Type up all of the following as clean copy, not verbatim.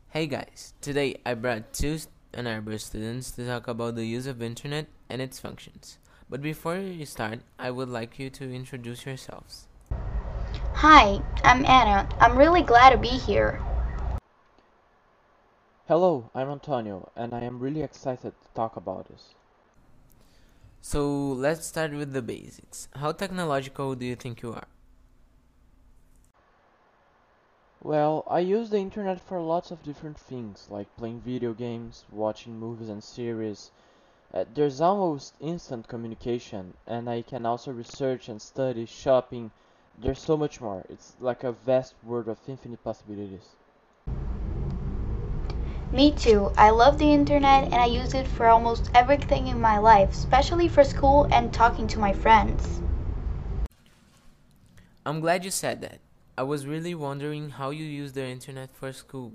Hey guys, today I brought two Ann Arbor students to talk about the use of internet and its functions. But before you start, I would like you to introduce yourselves. Hi, I'm Anna. I'm really glad to be here. Hello, I'm Antonio, and I am really excited to talk about this. So let's start with the basics. How technological do you think you are? Well, I use the internet for lots of different things, like playing video games, watching movies and series. There's almost instant communication, and I can also research and study, shopping. There's so much more. It's like a vast world of infinite possibilities. Me too. I love the internet and I use it for almost everything in my life, especially for school and talking to my friends. I'm glad you said that. I was really wondering how you use the internet for school.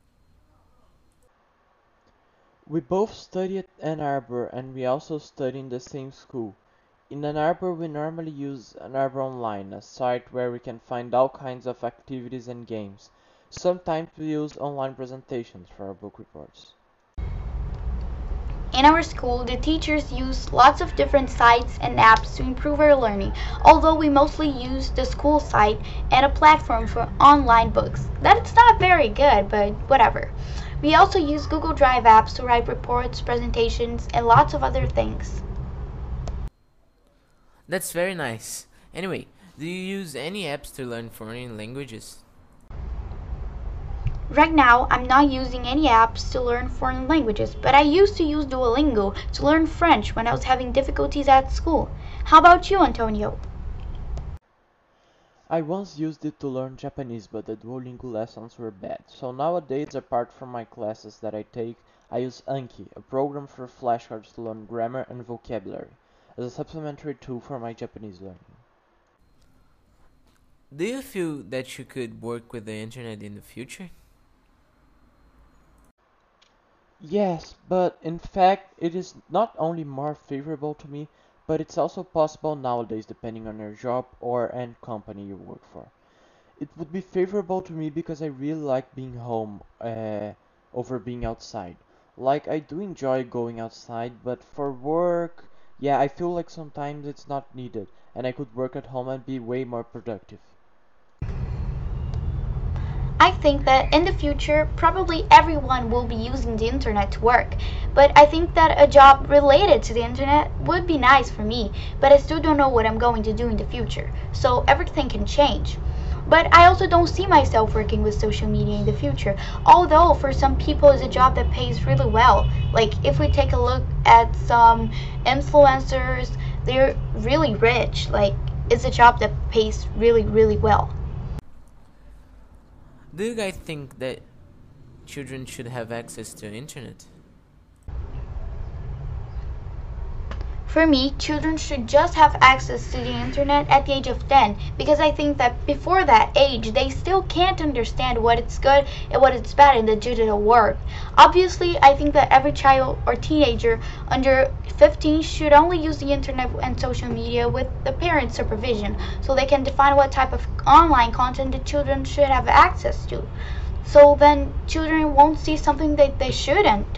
We both study at Ann Arbor, and we also study in the same school. In Ann Arbor, we normally use Ann Arbor Online, a site where we can find all kinds of activities and games. Sometimes we use online presentations for our book reports. In our school, the teachers use lots of different sites and apps to improve our learning, although we mostly use the school site and a platform for online books. That's not very good, but whatever. We also use Google Drive apps to write reports, presentations, and lots of other things. That's very nice. Anyway, do you use any apps to learn foreign languages? Right now, I'm not using any apps to learn foreign languages, but I used to use Duolingo to learn French when I was having difficulties at school. How about you, Antonio? I once used it to learn Japanese, but the Duolingo lessons were bad. So nowadays, apart from my classes that I take, I use Anki, a program for flashcards to learn grammar and vocabulary, as a supplementary tool for my Japanese learning. Do you feel that you could work with the internet in the future? Yes, but in fact, it is not only more favorable to me, but it's also possible nowadays depending on your job or and company you work for. It would be favorable to me because I really like being home over being outside. Like, I do enjoy going outside, but for work, yeah, I feel like sometimes it's not needed, and I could work at home and be way more productive. I think that in the future, probably everyone will be using the internet to work. But I think that a job related to the internet would be nice for me, but I still don't know what I'm going to do in the future. So everything can change. But I also don't see myself working with social media in the future, although for some people it's a job that pays really well. Like if we take a look at some influencers, they're really rich. Like it's a job that pays really, really well. Do you guys think that children should have access to internet? For me, children should just have access to the internet at the age of 10 because I think that before that age they still can't understand what is good and what is bad in the digital world. Obviously, I think that every child or teenager under 15 should only use the internet and social media with the parent's supervision so they can define what type of online content the children should have access to. So then children won't see something that they shouldn't.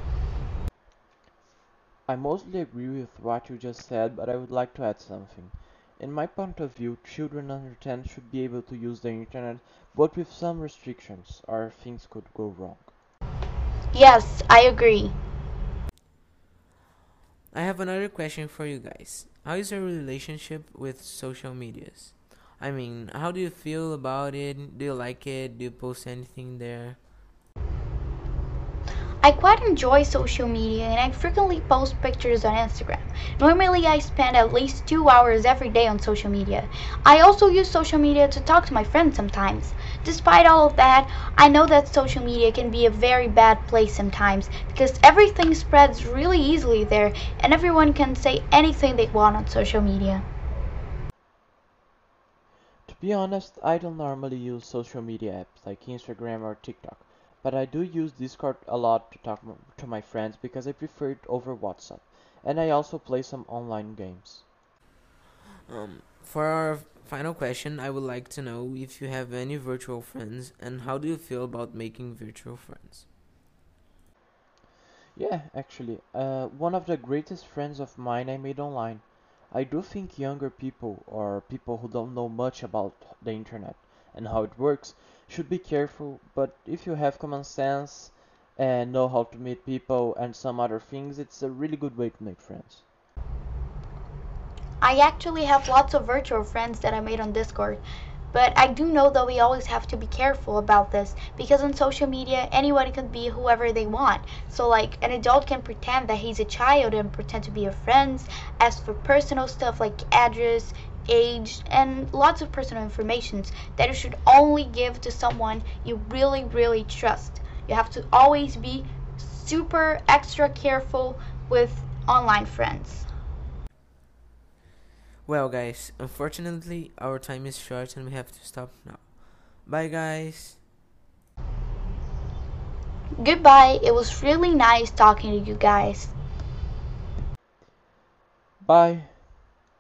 I mostly agree with what you just said, but I would like to add something. In my point of view, children under 10 should be able to use the internet, but with some restrictions, or things could go wrong. Yes, I agree. I have another question for you guys. How is your relationship with social medias? I mean, how do you feel about it? Do you like it? Do you post anything there? I quite enjoy social media and I frequently post pictures on Instagram. Normally, I spend at least 2 hours every day on social media. I also use social media to talk to my friends sometimes. Despite all of that, I know that social media can be a very bad place sometimes because everything spreads really easily there and everyone can say anything they want on social media. To be honest, I don't normally use social media apps like Instagram or TikTok, but I do use Discord a lot to talk to my friends because I prefer it over WhatsApp, and I also play some online games. For our final question, I would like to know if you have any virtual friends and how do you feel about making virtual friends? Yeah, actually, one of the greatest friends of mine I made online. I do think younger people or people who don't know much about the internet and how it works should be careful, but if you have common sense and know how to meet people and some other things, it's a really good way to make friends. I actually have lots of virtual friends that I made on Discord. But I do know that we always have to be careful about this because on social media, anybody can be whoever they want. So, like, an adult can pretend that he's a child and pretend to be your friends, ask for personal stuff like address, age, and lots of personal information that you should only give to someone you really, really trust. You have to always be super extra careful with online friends. Well, guys, unfortunately, our time is short and we have to stop now. Bye, guys. Goodbye. It was really nice talking to you guys. Bye!